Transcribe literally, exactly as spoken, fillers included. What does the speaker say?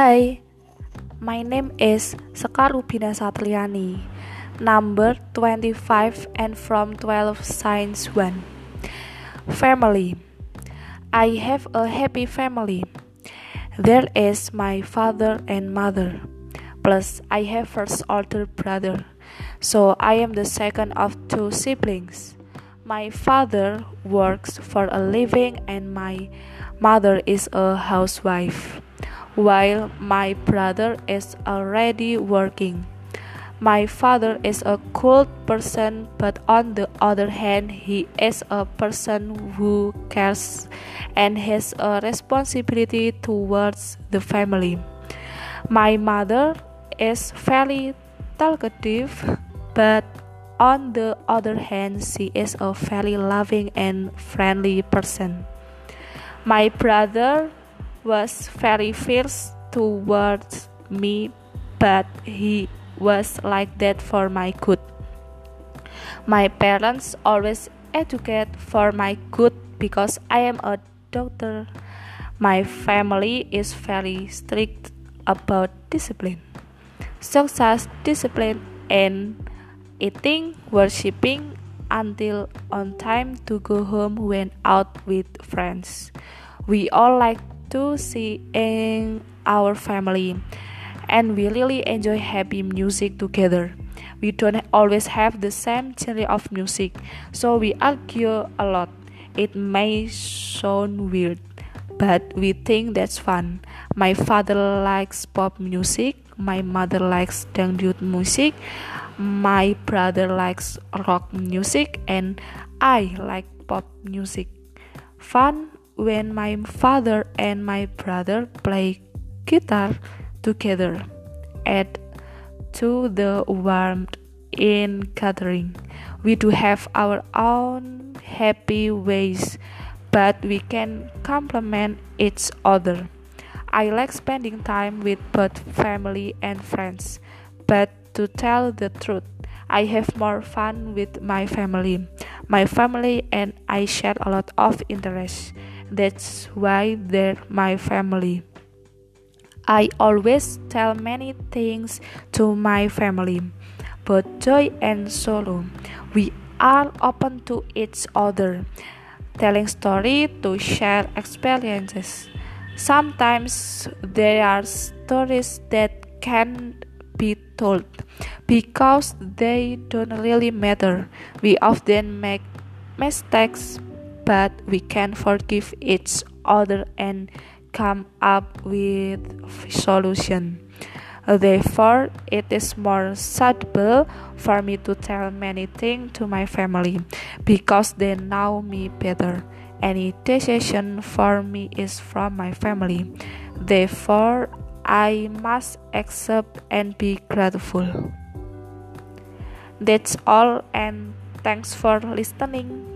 Hi, my name is Sekar Rubina Satriani, number twenty-five and from twelve Science one. Family. I have a happy family. There is my father and mother, plus I have first older brother, so I am the second of two siblings. My father works for a living and my mother is a housewife, while my brother is already working. My father is a cool person, but on the other hand, he is a person who cares and has a responsibility towards the family. My mother is very talkative, but on the other hand, she is a very loving and friendly person. My brother was very fierce towards me, but he was like that for my good. My parents always educate for my good because I am a doctor. My family is very strict about discipline, such as discipline in eating, worshipping, until on time to go home when out with friends. We all like to see in our family, and we really enjoy happy music together. We don't always have the same genre of music, so we argue a lot. It may sound weird, but we think that's fun. My father likes pop music, my mother likes dangdut music, my brother likes rock music, and I like pop music. Fun when my father and my brother play guitar together. Add to the warmth in gathering. We do have our own happy ways, but we can complement each other. I like spending time with both family and friends, but to tell the truth, I have more fun with my family. My family and I share a lot of interests. That's why they're my family. I always tell many things to my family, both joy and sorrow. We are open to each other, telling stories to share experiences. Sometimes there are stories that can't be told because they don't really matter. We often make mistakes, but we can forgive each other and come up with solution. Therefore, it is more suitable for me to tell many things to my family because they know me better. Any decision for me is from my family. Therefore, I must accept and be grateful. That's all, and thanks for listening.